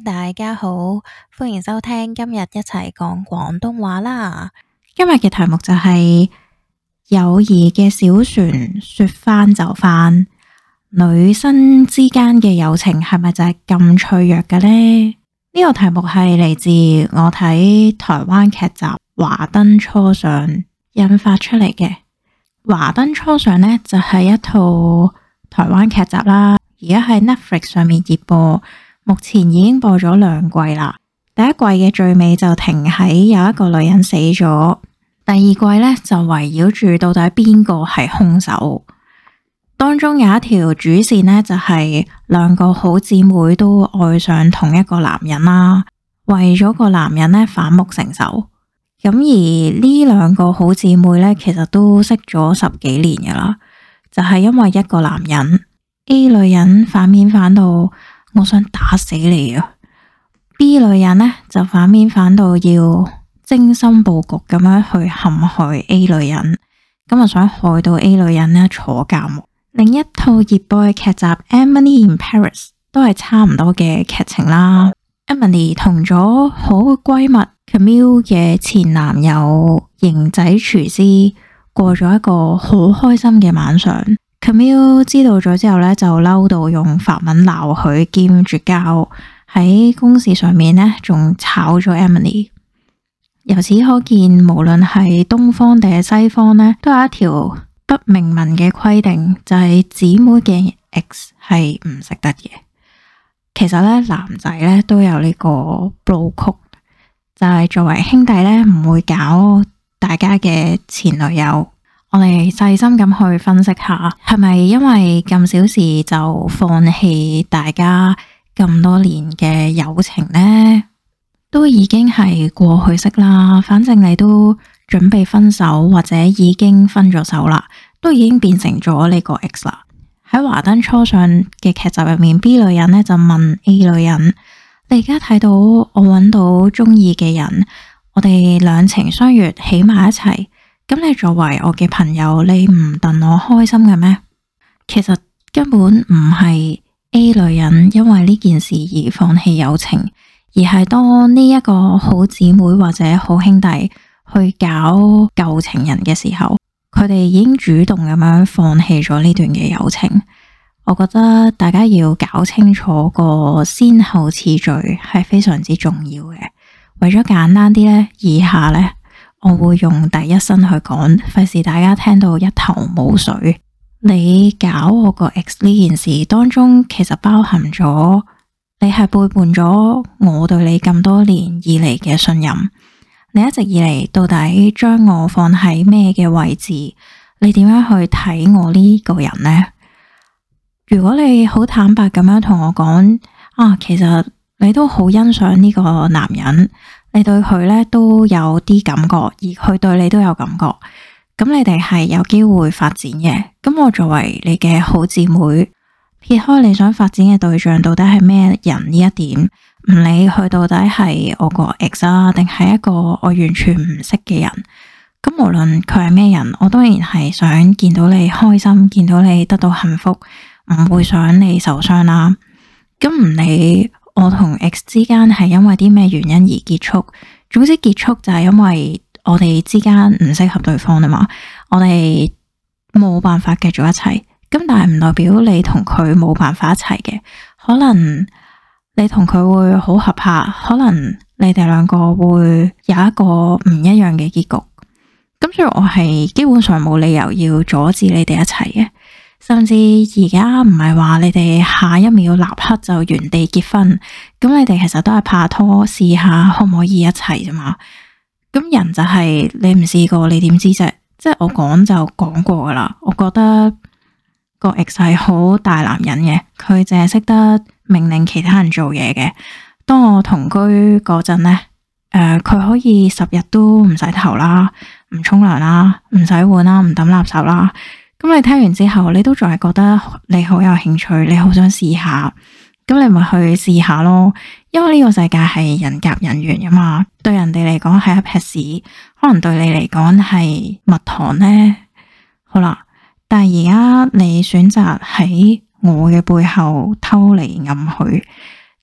大家好，歡迎收聽今日一齊講廣東話啦。今日嘅題目就係友誼嘅小船說翻就翻，女生之間嘅友情係咪就係咁脆弱嘅呢？呢個題目係嚟自我睇台灣劇集《華燈初上》引發出嚟嘅。《華燈初上》呢，就係一套台灣劇集啦，而家喺 Netflix 上面熱播，目前已經播咗2季啦。第一季嘅最尾就停喺有一個女人死咗，第二季呢，就圍繞住到底邊個係兇手。當中有一條主線呢，就係2個好姊妹都愛上同一個男人啦，為咗個男人呢，反目成仇。咁而呢2個好姊妹呢，其實都識咗10幾年噶啦，就係因為一個男人 A 女人反面反到我想打死你啊， B 女人呢，就反面反到要精心布局咁樣去陷害 A 女人，咁啊想害到 A 女人呢坐監。另一套熱播嘅劇集《Emily in Paris》都係差唔多嘅劇情啦。Emily 同咗好閨蜜 Camille 嘅前男友型仔廚師過咗一個好開心嘅晚上。Camille 知道咗之後呢，就嬲到用法文鬧佢兼絕交，喺公事上面呢，仲炒咗 Emily。由此可見，無論係東方定係西方呢，都有一條不明文嘅規定，就係姊妹嘅 X 係唔食得嘅。其實咧，男仔咧都有呢個 bro code，就係作為兄弟咧唔會搞大家嘅前女友。我哋細心咁去分析下，係咪因為咁小事就放棄大家咁多年嘅友情呢？都已經係過去式啦，反正你都準備分手或者已經分咗手啦，都已經變成咗呢個 X 啦。喺華燈初上嘅劇集入面， B 女人呢就問 A 女人：你而家睇到我揾到中意嘅人，我哋兩情相悅起埋一齊，咁你作為我嘅朋友，你唔戥我開心嘅咩？其實根本唔係 A 女人因為呢件事而放棄友情，而係當呢一個好姊妹或者好兄弟去搞舊情人嘅時候，佢哋已經主動咁樣放棄咗呢段嘅友情。我覺得大家要搞清楚個先後次序係非常之重要嘅。為咗簡單啲呢，以下呢，我會用第一身去講，費事大家聽到一頭霧水。你搞我個 X 呢件事當中，其實包含咗你係背叛咗我對你咁多年以嚟嘅信任。你一直以嚟到底將我放喺咩嘅位置？你點樣去睇我呢個人呢？如果你好坦白咁樣同我講，其實你都好欣賞呢個男人，你對佢呢都有啲感覺，而佢對你都有感覺，咁你哋係有機會發展嘅。咁我作為你嘅好姊妹，撇開你想發展嘅對象到底係咩人呢一點，唔理佢到底係我個 X 啊，定係一個我完全唔識嘅人，咁無論佢係咩人，我當然係想見到你開心，見到你得到幸福，唔會想你受傷啦。咁唔理我同 X 之間係因為啲咩原因而結束，總之結束就係因為我哋之間唔適合對方啊嘛，我哋冇辦法繼續一齊。咁但係唔代表你同佢冇辦法一齊嘅，可能你同佢會好合拍，可能你哋2個會有一個唔一樣嘅結局。咁所以我係基本上冇理由要阻止你哋一齊嘅，甚至而家唔係話你哋下一秒立刻就原地結婚，咁你哋其實都係拍拖試下可唔可以一齊啫嘛。咁人就係你唔試過你點知啫？即係我講就講過噶啦，我覺得個 X 係好大男人嘅，佢淨係識得命令其他人做嘢嘅。當我同居嗰陣呢，佢可以10日都唔洗頭啦，唔沖涼啦，唔洗碗啦，唔抌垃圾啦。咁你聽完之後，你都仲係覺得你好有興趣，你好想試下，咁你咪去試下咯。因為呢個世界係人夾人緣噶嘛，對人哋嚟講係一撇屎，可能對你嚟講係蜜糖呢。好啦。但係而家你選擇喺我嘅背後偷嚟暗去，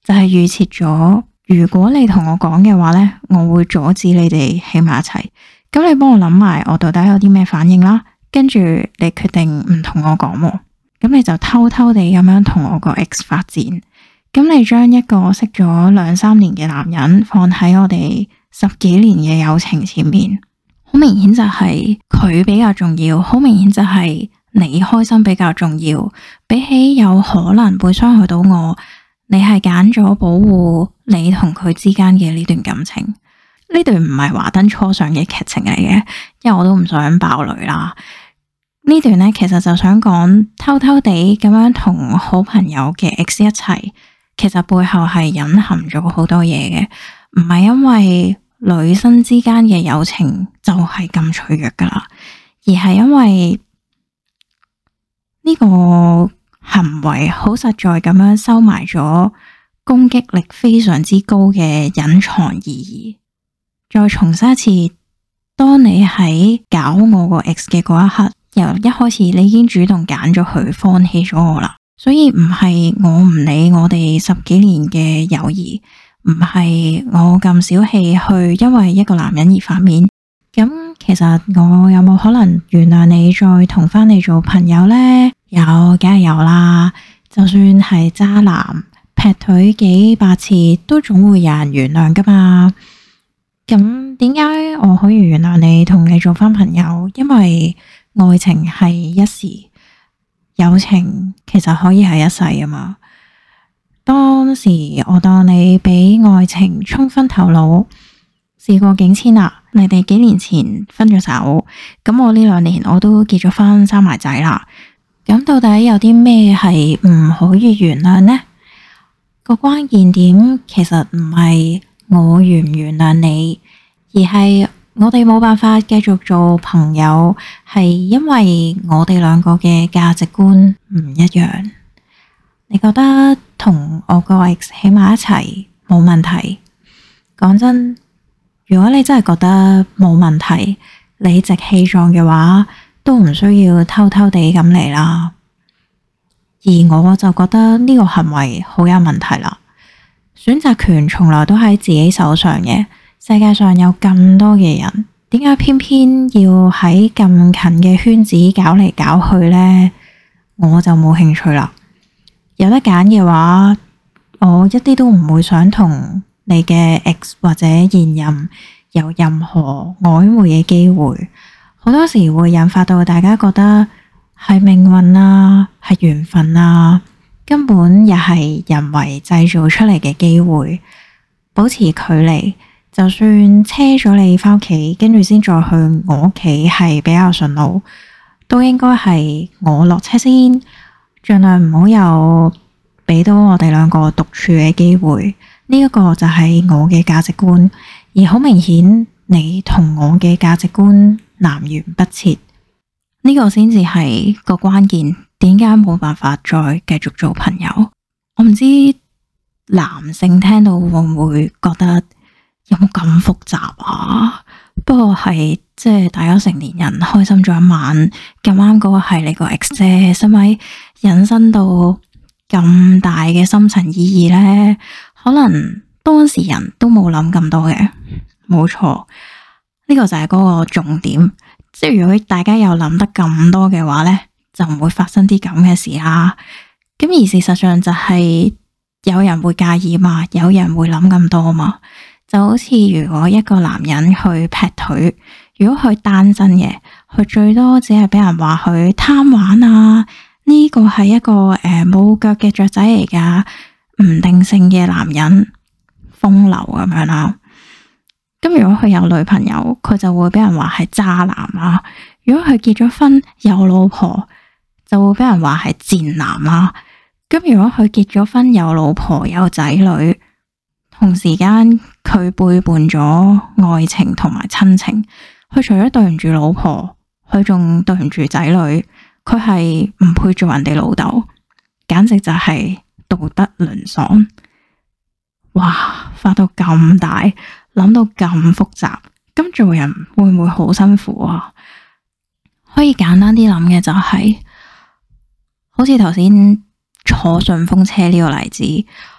就係預設咗，如果你同我講嘅話呢，我會阻止你哋喺埋一齊。咁你幫我諗埋我到底有啲咩反應啦，跟住你決定唔同我講，咁你就偷偷地咁樣同我個 ex 發展。咁你將一個識咗2-3年嘅男人放喺我哋10幾年嘅友情前面，好明顯就係佢比較重要，好明顯就係你開心比較重要。比起有可能會傷害到我，你係揀咗保護你同佢之間嘅呢段感情。呢段唔係華燈初上嘅劇情嚟嘅，因為我都唔想爆雷啦。呢段呢，其實就想講偷偷地咁樣同好朋友嘅 ex 一齊，其實背後係隱含咗好多嘢嘅，唔係因為女生之間嘅友情就係咁脆弱噶啦，而係因為呢個行為好實在咁樣收埋咗攻擊力非常之高嘅隱藏意義。再重申一次，當你喺搞我個 ex 嘅嗰一刻，由一開始你已經主動揀咗佢，放棄咗我啦。所以唔係我唔理我哋10幾年嘅友誼，唔係我咁小氣去因為一個男人而反面。咁其實我有冇可能原諒你再同翻你做朋友呢？有，梗係有啦。就算係渣男劈腿幾百次，都總會有人原諒噶嘛。咁點解我可以原諒你，同你做翻朋友？因為愛情係一時，友情其實可以係一世啊嘛。當時我當你俾愛情沖昏頭腦，事過境遷啦。你哋幾年前分咗手，咁我呢2年我都結咗婚，生埋仔啦。咁到底有啲咩係唔可以原諒呢？個關鍵點其實唔係我原唔原諒你，而係我哋冇辦法繼續做朋友，係因為我哋兩個嘅價值觀唔一樣。你覺得同我個 ex 喺埋一齊冇問題？講真，如果你真係覺得冇問題，理直氣壯嘅話，都唔需要偷偷地咁嚟啦。而我就覺得呢個行為好有問題啦。選擇權從來都喺自己手上嘅，世界上有咁多嘅人，點解偏偏要喺咁近嘅圈子搞嚟搞去呢？我就冇興趣啦。有得揀嘅話，我一啲都唔會想同你嘅 ex 或者現任有任何曖昧嘅機會。好多時會引發到大家覺得係命運啊，係緣分啊，根本又係人為製造出嚟嘅機會。保持距離，就算車咗你返屋企，跟住先再去我屋企係比較順路，都應該係我落車先，盡量唔好有俾到我哋兩個獨處嘅機會。呢一個就係我嘅價值觀，而好明顯你同我嘅價值觀南轅北轍，呢個先至係個關鍵。點解冇辦法再繼續做朋友？我唔知男性聽到會唔會覺得有冇咁複雜啊？不過係即係大家成年人開心咗一晚，咁啱嗰個係你個 ex 啫，使咪引申到咁大嘅深層意義呢？可能當事人都冇諗咁多嘅，冇錯，呢個就係嗰個重點。即係如果大家有諗得咁多嘅話呢，就唔會發生啲咁嘅事啦。咁而事實上就係有人會介意嘛，有人會諗咁多嘛。就好似如果一個男人去劈腿，如果佢單身嘅，佢最多只係俾人話佢貪玩啊，呢個係一個冇腳嘅雀仔嚟噶，唔定性嘅男人，風流咁樣啦。咁如果佢有女朋友，佢就會俾人話係渣男啦。如果佢結咗婚有老婆，就會俾人話係賤男啦。咁如果佢結咗婚有老婆有仔女，同時間佢背叛咗愛情同埋親情，佢除咗對唔住老婆，佢仲對唔住仔女，佢係唔配做人哋老豆，簡直就係道德淪喪。哇，發到咁大，諗到咁複雜，咁做人會唔會好辛苦啊？可以簡單啲諗嘅就係，好似頭先坐順風車呢個例子，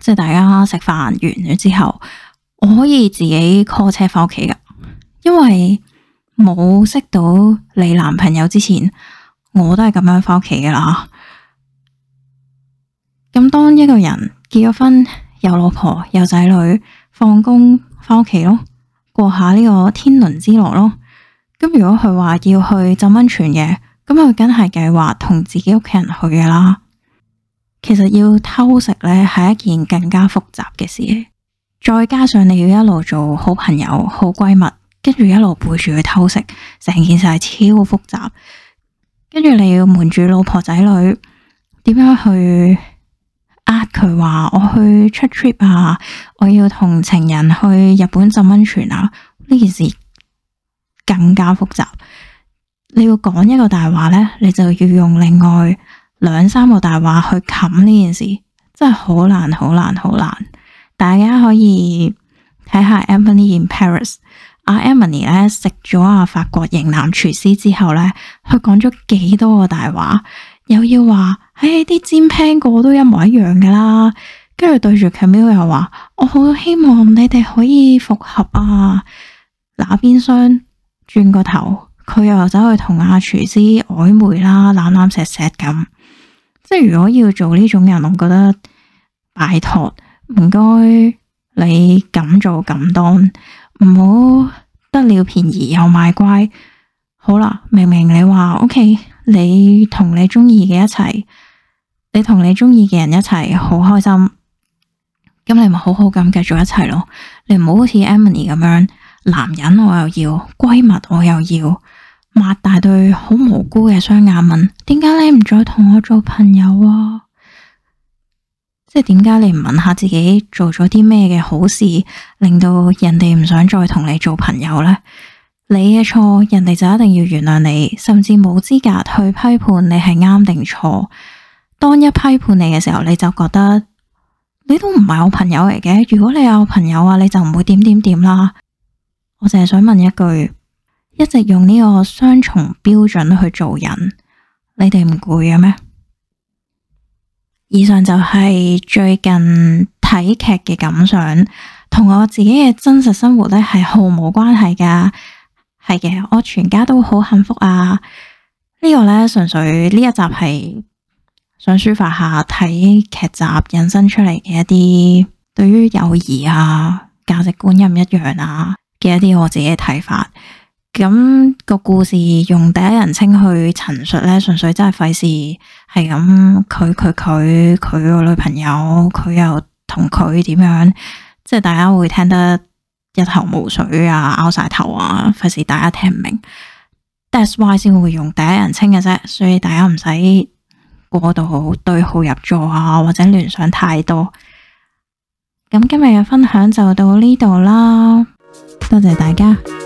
即係大家食飯完咗之後，我可以自己 call 車翻屋企噶，因為冇識到你男朋友之前，我都係咁樣翻屋企噶啦。咁當一個人結咗婚，有老婆有仔女，放工翻屋企咯，過下呢個天倫之樂咯。咁如果佢話要去浸溫泉嘅，咁佢梗係計劃同自己屋企人去噶啦。其實要偷食呢係一件更加複雜嘅事，再加上你要一路做好朋友、好閨蜜，跟住一路背住去偷食，成件事係超複雜。跟住你要瞞住老婆仔女，點樣去佢話我去出 trip 啊，我要同情人去日本浸溫泉啊，呢件事更加複雜。你要講一個大話呢，你就要用另外2-3個大話去冚呢件事，真係好難好難好難。大家可以睇下 Emily in Paris， Emily 咧食咗法國型男廚師之後呢，佢講咗幾多個大話，又要話啲煎 pan 個都一模一樣噶啦，跟住對住 Camille 又話我好希望你哋可以復合啊。那邊廂轉個頭，佢又走去同廚師曖昧啦，攬攬錫錫咁。即係如果要做呢種人，我覺得拜託唔該你咁做咁當，唔好得了便宜又賣乖。好啦，明明你話 OK， 你同你中意嘅一齊，你同你中意嘅人一齊好開心，咁你咪好好咁繼續一齊咯。你唔好好似 Emily 咁樣，男人我又要，閨蜜我又要，擘大對好無辜嘅雙眼問，點解你唔再同我做朋友啊？即係點解你唔問下自己做咗啲咩嘅好事，令到人哋唔想再同你做朋友呢？你嘅錯，人哋就一定要原諒你，甚至冇資格去批判你係啱定錯。當一批判你嘅時候，你就覺得你都唔係我朋友嚟嘅。如果你有朋友啊，你就唔會點點點啦。我淨係想問一句，一直用呢個雙重標準去做人，你哋唔攰嘅咩？以上就係最近睇劇嘅感想，同我自己嘅真實生活咧係毫無關係噶。係嘅，我全家都好幸福啊。呢個咧純粹呢一集係想抒發下睇劇集引申出嚟嘅一啲對於友誼啊、價值觀一唔一樣啊嘅一啲我自己嘅睇法。咁個故事用第一人稱去陳述咧，純粹真係費事係咁佢個女朋友，佢又同佢點樣，即係大家會聽得一頭霧水啊，拗晒頭啊，費事大家聽唔明。That's why 先會用第一人稱嘅啫，所以大家唔使過度對號入座啊，或者聯想太多。咁今日嘅分享就到呢度啦，多謝大家。